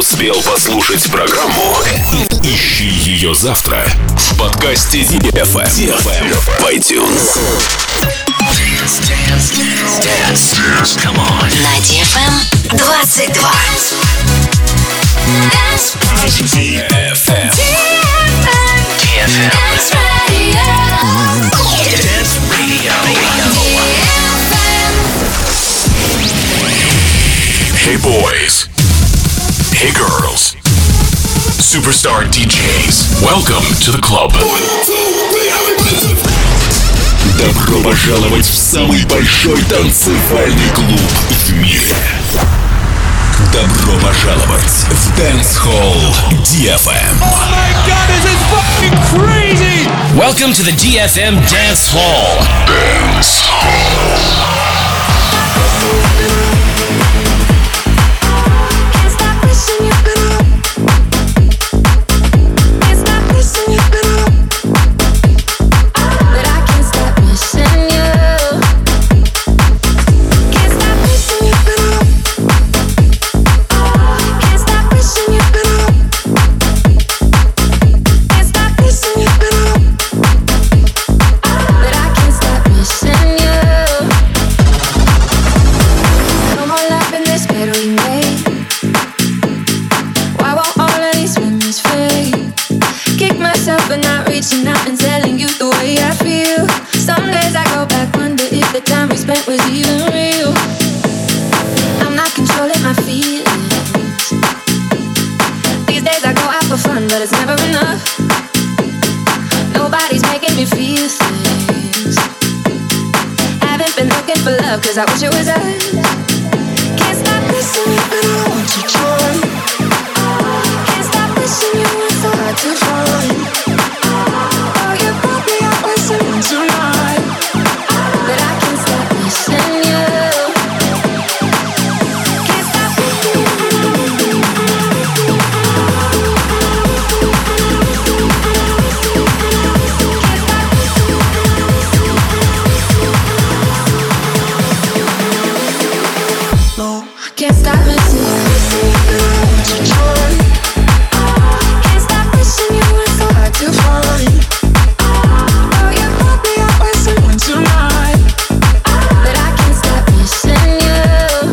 успел послушать программу? Ищи ее завтра в подкасте DFM в iTunes. Dance. Come on. На DFM 22. DFM. Dance Radio. Dance Radio. Hey boys. Hey girls. Superstar DJs. Welcome to the club. Добро пожаловать в самый большой танцевальный клуб в мире. Добро пожаловать в Dance Hall DFM. Oh my God, this is fucking crazy! Welcome to the DFM Dance Hall. Dance Hall. But it's never enough. Nobody's making me feel things. Haven't been looking for love, cause I wish it was us. Can't stop missing you, but I want to try. Can't stop missing you, it's so hard to find. Oh, you brought me out with someone tonight. But I can't stop missing you. Can't stop missing you. Can't stop missing you. Can't stop missing you. It's so hard to find. Oh, you brought me out with someone tonight. But I can't stop missing you.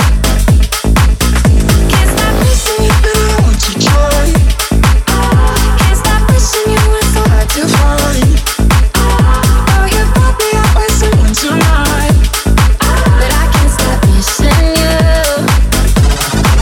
Can't stop missing you, but I want to try. Can't stop missing you. It's so hard to find. Oh, you brought me out with someone tonight. But I can't stop missing you.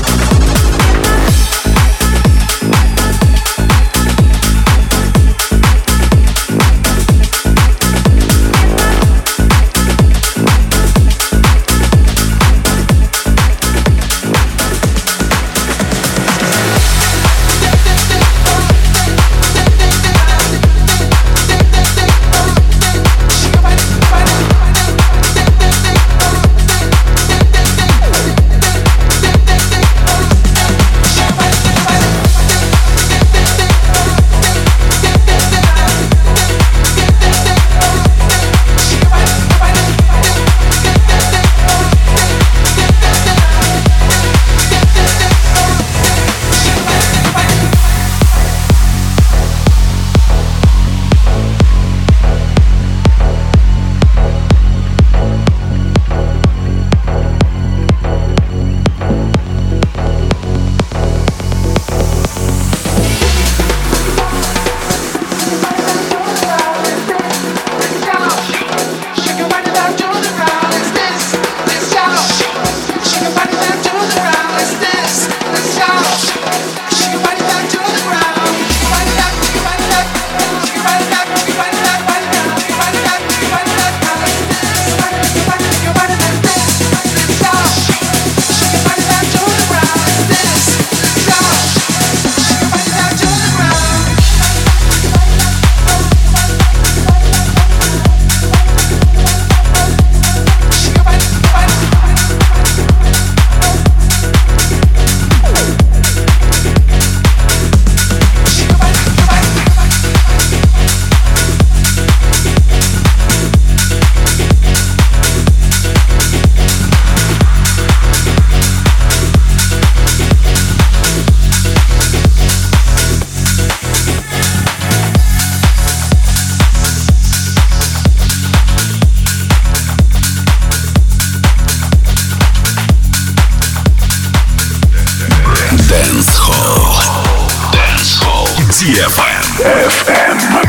DFM.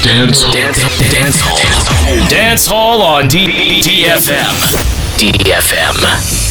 Dance Hall on DFM. DFM.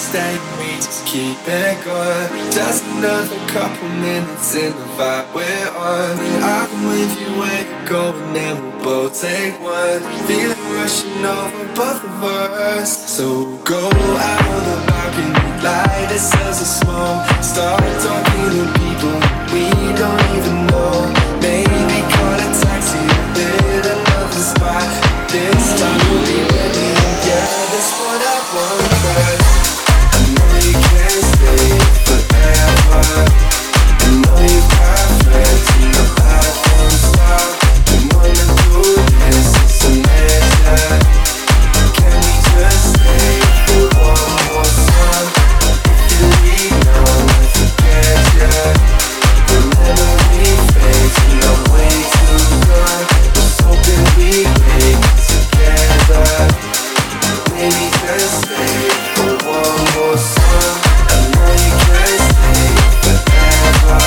stay, we just keep it going. Just another couple minutes in the vibe we're on. I'm with you where you're going, and we'll both take one. Feeling rushing over both of us. So go out on the balcony, light ourselves a smoke. Start talking to people we don't even know. Maybe call a taxi, hit another spot. This time we'll be ready, yeah, that's what I want. But I know you can't stay forever. I know you've got friends and the life won't stop. We wanna do this, it's a measure. Can we just stay for one more song? If you leave now, I forget ya. The memory fades and I'm way too gone. Was hoping we'd make it together. Maybe just stay for one more song. I know you can't stay forever.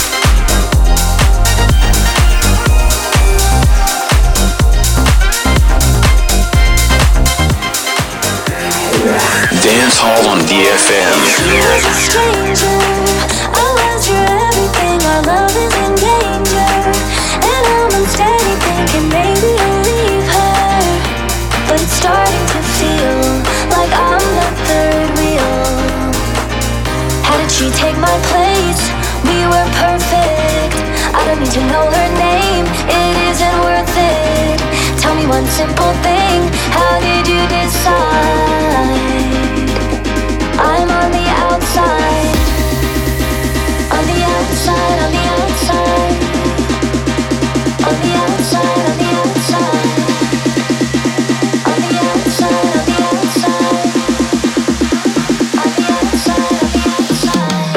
Dance Hall on DFM. You're a stranger. I was your everything. Our love is in danger. And I'm unsteady thinking maybe I'll leave her. But it's starting to feel like I'm the third wheel. How did she take my place? We were perfect. I don't need to know her name. It isn't worth it. Tell me one simple thing. How did you decide? I'm on the outside. On the outside, on the outside. On the outside, on the outside. On the outside, on the outside. On the outside, on the outside.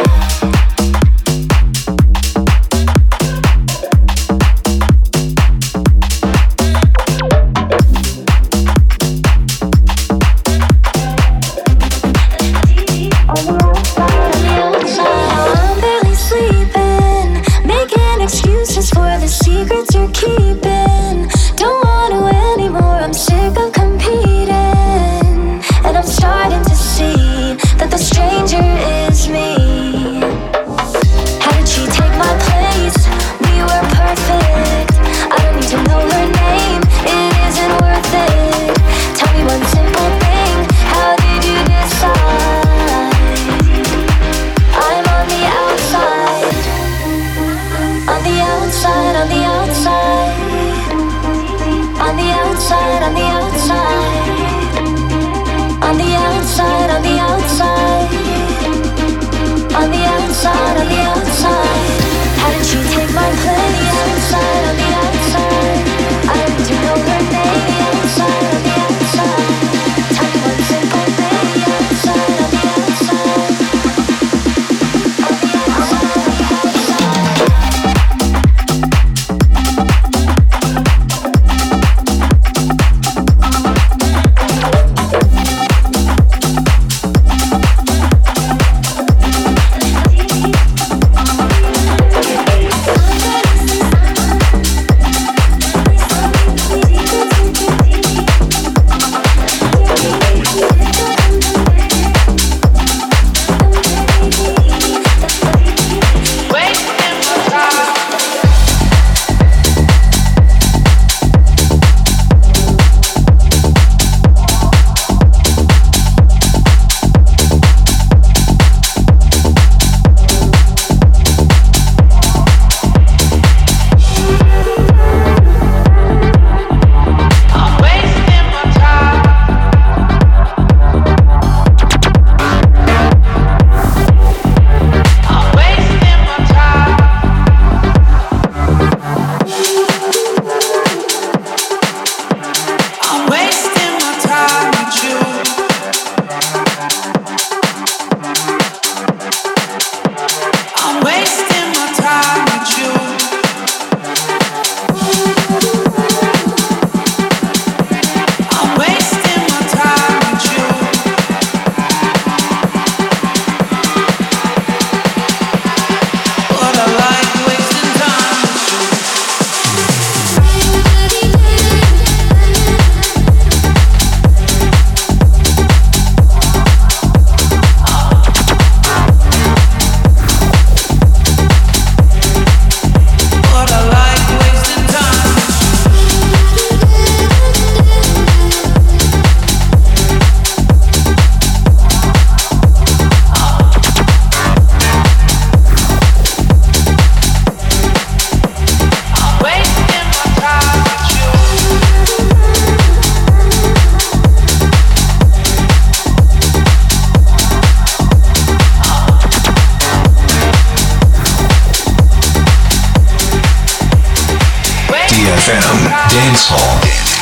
Dance Hall.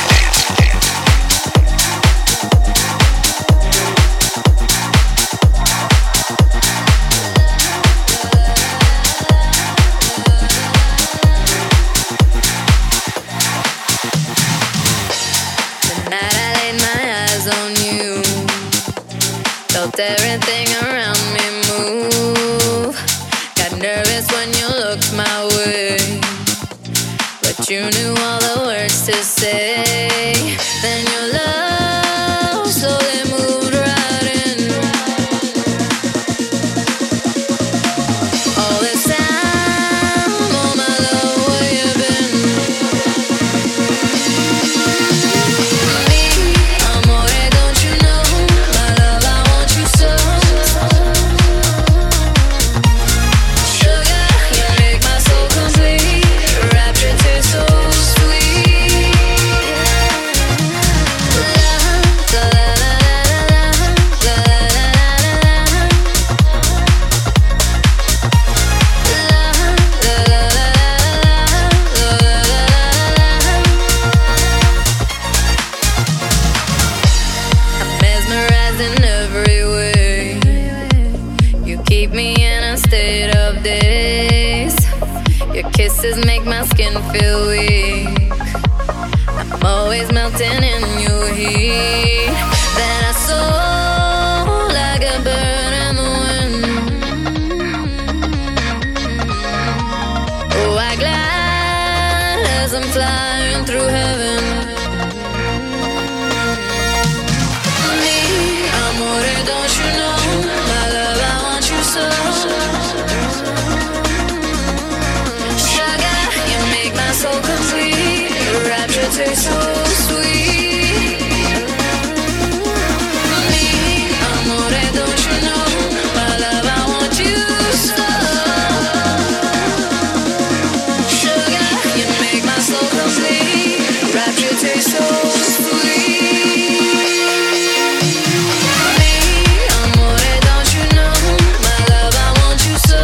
Everything around me move. Got nervous when you looked my way, but you knew all the words to say. Then your love slowly moved right in. All this time, oh my love, where you been? Me, amore, don't you know? My love, I want you so. Sugar, you make my soul complete. Rapture tastes so sweet. La la la la la la I'm mesmerized in every way. You keep me in a state of daze. Your kisses make my skin feel weak. I'm always melting in your heat. Then I soar like a bird in the wind. Oh, I glide as I'm flying through heaven. Me, amore, don't you know? My love, I want you so. Sugar, you make my soul complete. Your rapture tastes so sweet. Me, amore, don't you know? My love, I want you so. Sugar, you make my soul complete. Rapture tastes so sweet. Me, amore, don't you know? My love, I want you so.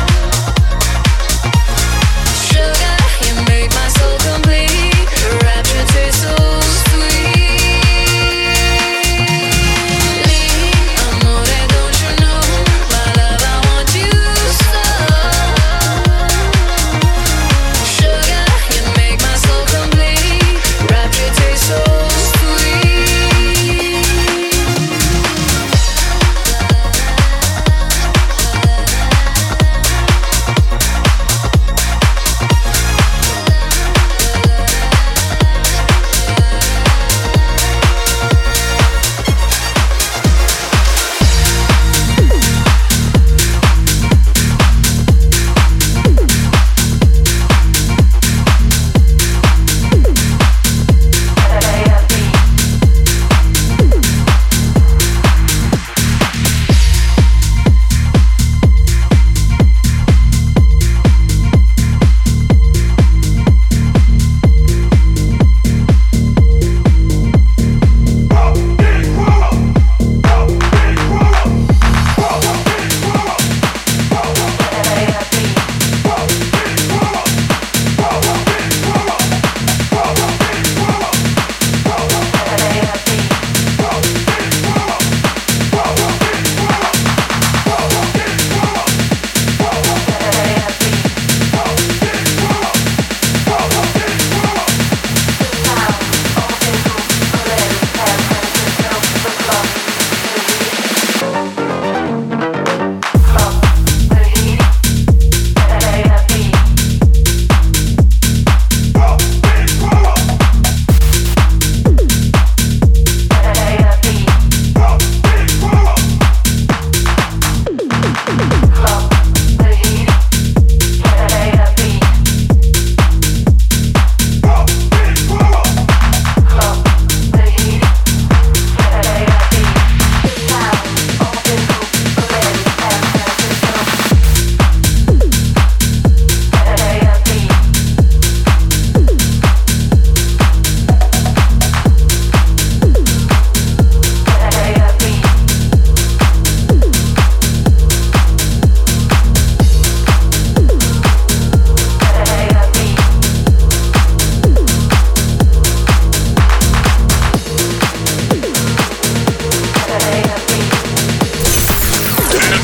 Sugar, you make my soul complete. Rapture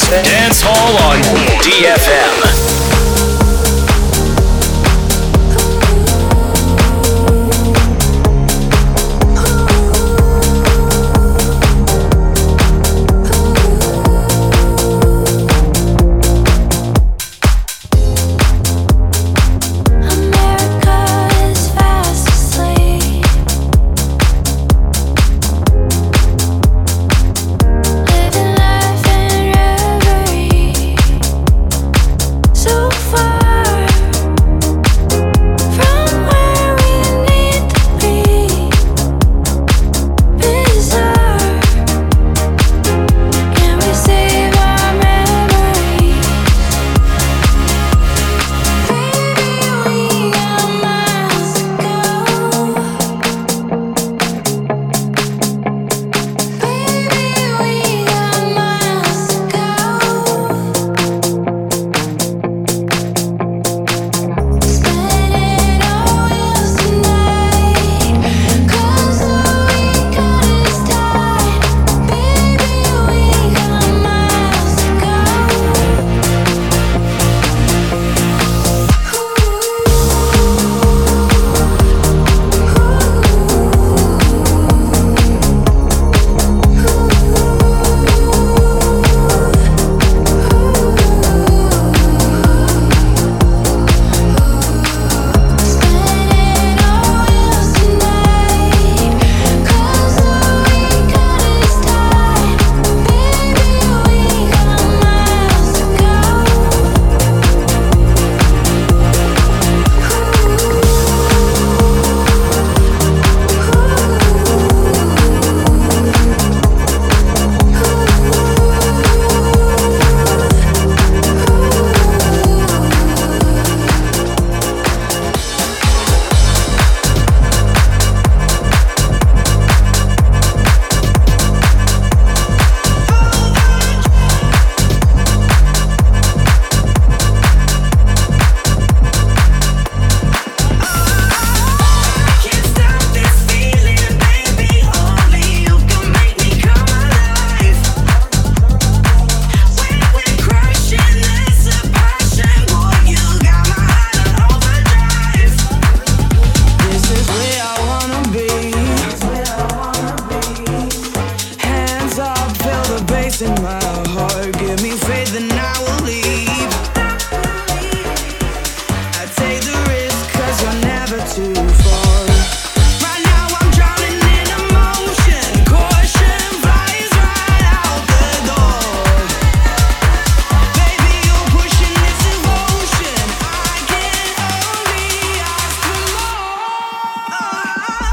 Dance Hall on DFM.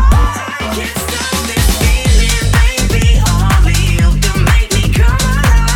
Can't stop this feeling, baby. Only you can make me come alive.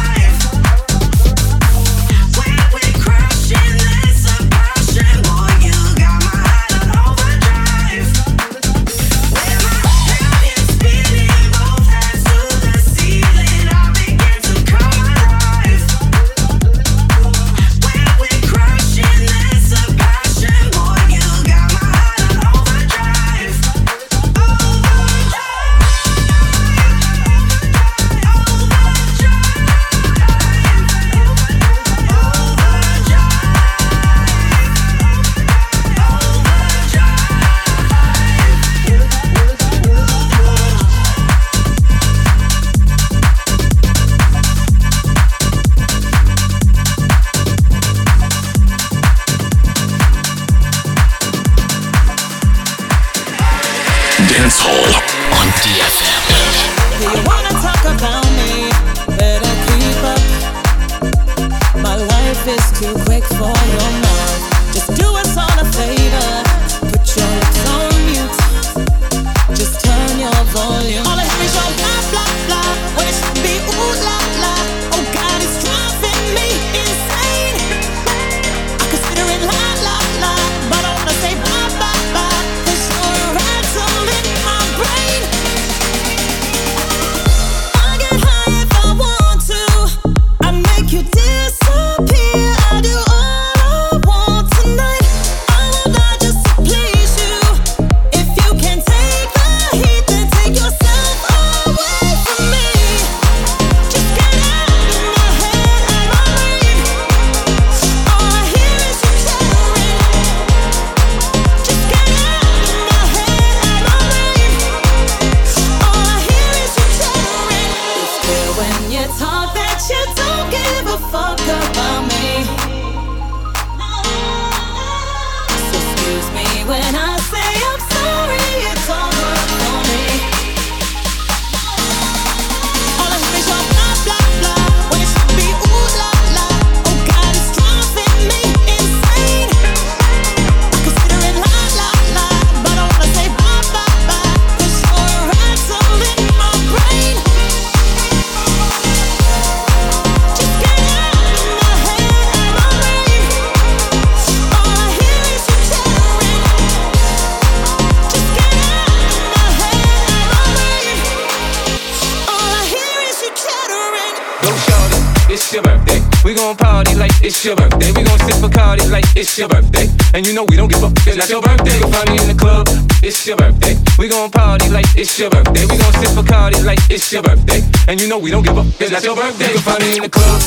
it's your birthday. We gon' party like it's your birthday. We gon' sip Bacardi like it's your birthday. And you know we don't give a it's not your birthday. You can find me in the club, it's your birthday. We gon' party like it's your birthday. We gon' sip Bacardi like it's your birthday. And you know we don't give a it's not your birthday. You can find me in the club.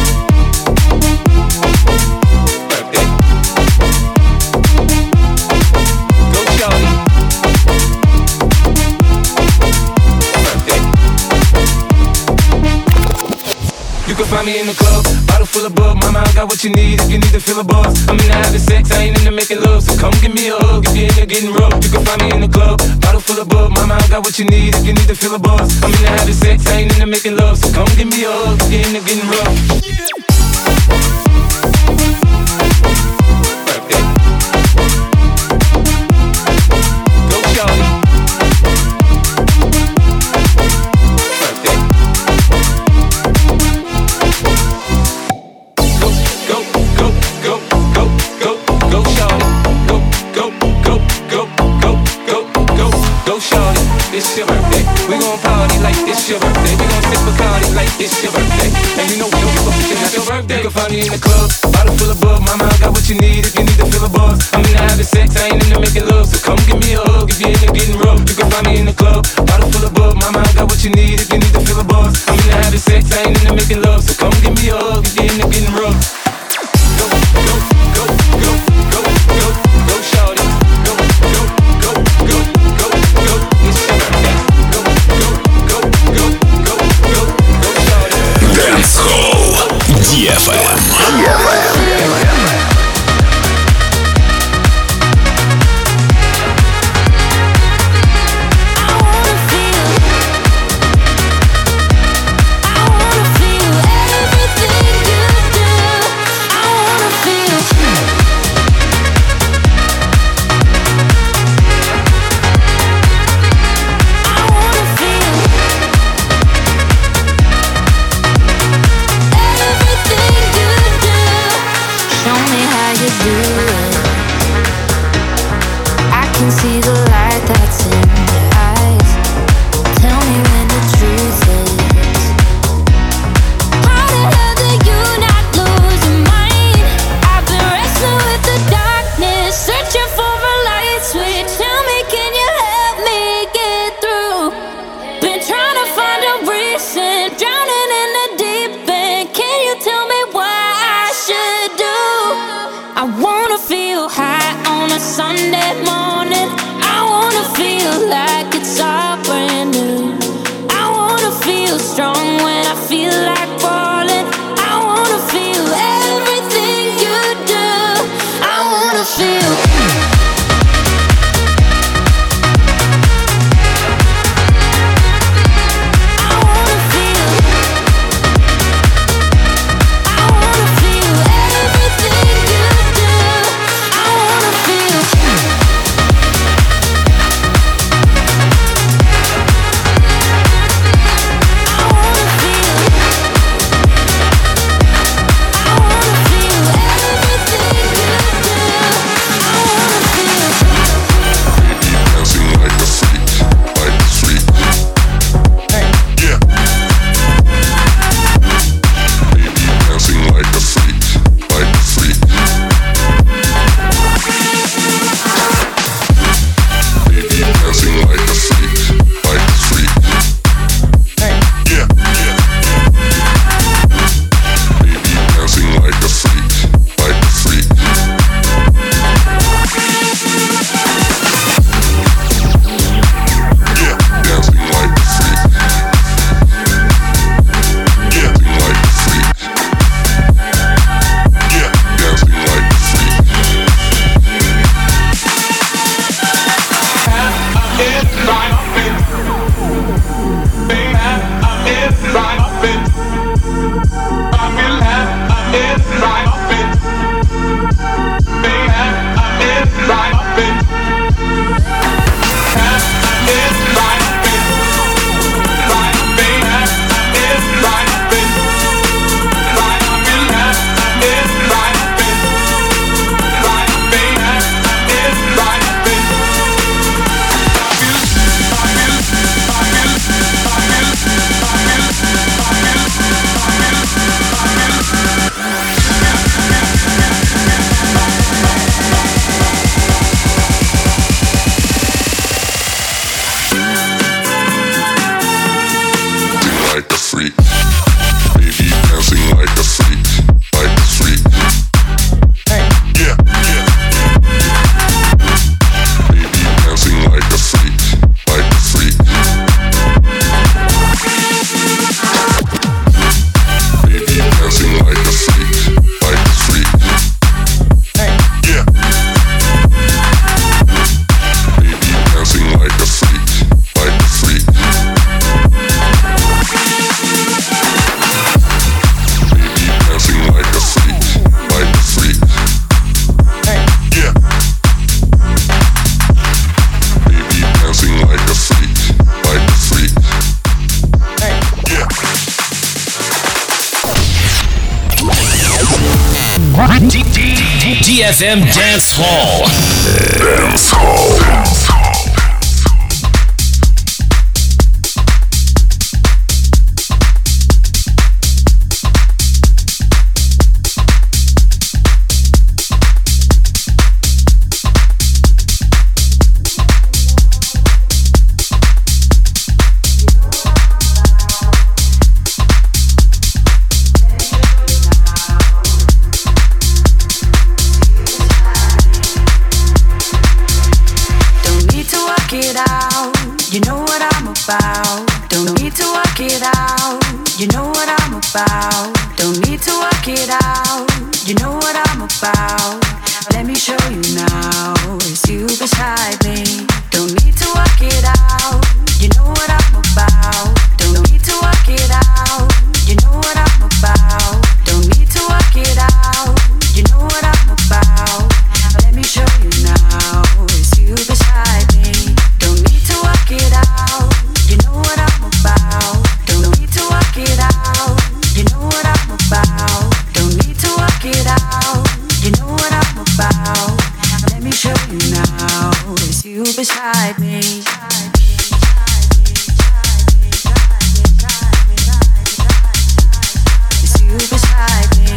Birthday. Go shawty. Birthday. You can find me in the club, bottle full of bub. Mama, I got what you need if you need to feel a buzz. I'm into having sex, I ain't into making love. So come give me a hug if you're into getting rough. You can find me in the club, bottle full of bub. Mama, I got what you need if you need to feel a buzz. I'm into having sex, I ain't into making love. So come give me a hug if you're into getting rough. Birthday. Go shawty. Birthday. Go shawty, go shawty, it's your birthday. We gon' party like it's your birthday. We gon' sip Bacardi like it's your birthday. And you know we don't give a fuck, it's not your birthday. You can find me in the club, bottle full of bub. Mama, I got what you need if you need to feel a buzz. I'm into having sex, I ain't into making love. So come give me a hug if you're into getting rough. You can find me in the club, bottle full of bub. Mama, I got what you need if you need to feel a buzz. I'm into having sex, I ain't into making love. So come give me a hug if you're into getting rough. Go, go, go, go, go, go, go, shawty. Go, go, go, go, go, go, it's your birthday. Go, go, go, go, go, go, go, shawty. Dance Hall DFM. See the light that's in your eyes. Tell me when the truth is. How the hell do you not lose your mind? I've been wrestling with the darkness, searching for a light switch. Tell me, can you help me get through? Been trying to find a reason, drowning in the deep end. Can you tell me what I should do? I wanna feel high on a Sunday morning. I wanna feel like it's all brand new. I wanna feel strong when I feel like falling. I wanna feel everything you do. I wanna feel. Feel like a freak. Baby dancing like a freak, like a freak. Yeah, yeah. Baby dancing like a freak, like a freak. Baby dancing like a freak, like a freak. Yeah. Baby dancing like a freak, like a freak. Baby dancing like a freak, like a freak. Yeah. Baby dancing like a freak, like a freak. Yeah. DFM Dance Hall. Dance Hall. You know what I'm about. Don't need to work it out. You know what I'm about. Don't need to work it out. You know what I'm about. Let me show you now. It's you beside me. Don't need to work it out. You know what I'm about. Don't need to work it out. You know what I'm about. Don't need to work it out. You know what I'm about. Let me show you now. It's you beside me. Don't need to work it out. You know what I'm about. Don't need to work it out. You know what I'm about. Don't need to work it out. You know what I'm about. Let me show you now. It's you beside me. It's you beside me.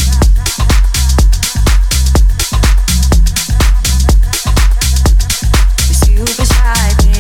It's you beside me.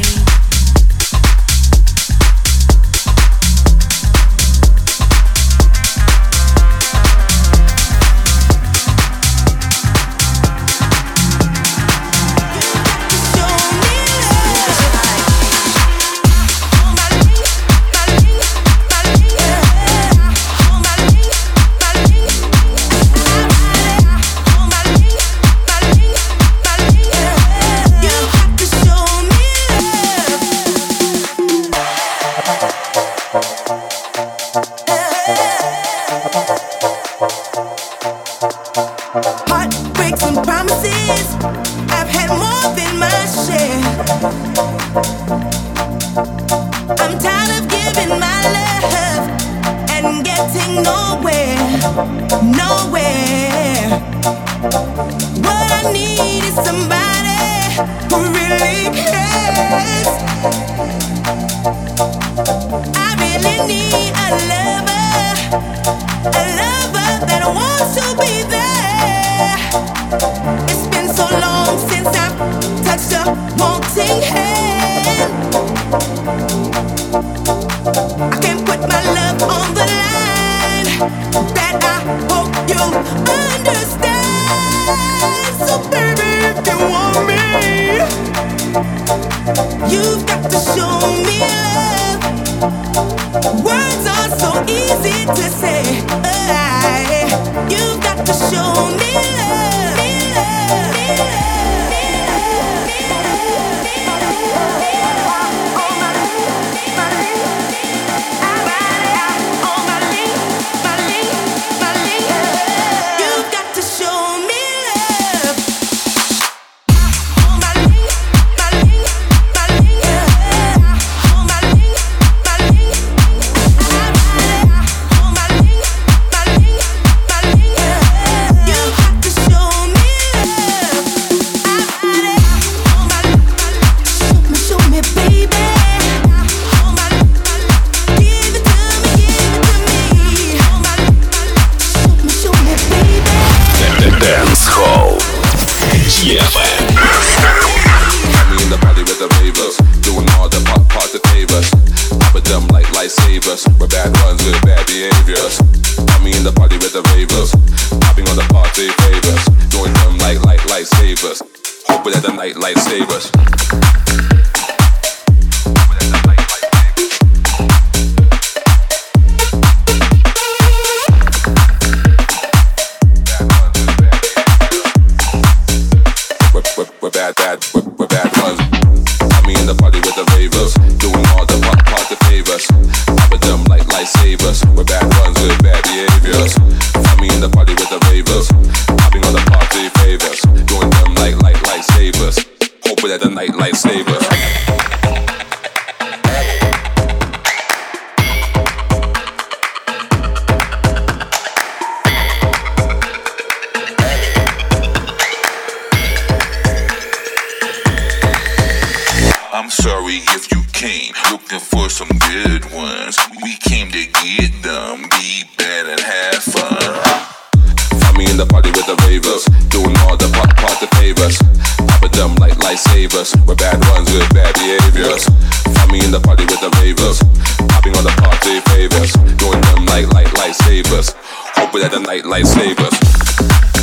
Heartbreaks and promises, I've had more than my share. I'm tired of giving my love and getting nowhere, nowhere. What I need is somebody who really cares. I really need a lover that wants to be there. It's been so long since I've touched a wanting hand. I can't put my love on the line. That I hope you'll understand. So baby, if you want me, you've got to show me love. Words are so easy to say. You've got to show me love. You've got to show me love. we're bad ones with bad behaviors. Got me in the party with the ravers, popping on the party favors, doing them like lifesavers. Hoping that the night lifesavers. We're bad ones. Got me in the party with the ravers, doing all the party favors, popping them like lifesavers. We're bad ones with bad behaviors. Got me in the party with the ravers, popping on the party favors, doing them like lifesavers. Hoping that the night lifesavers. I'm sorry if you came looking for some good ones. We came to get them, be bad and have fun. Find me in the party with the ravers, doing all the party favors, popping them like lifesavers. We're bad ones with bad behaviors. Find me in the party with the ravers, popping on the party favors, doing them like lifesavers. Hoping that the night lifesavers.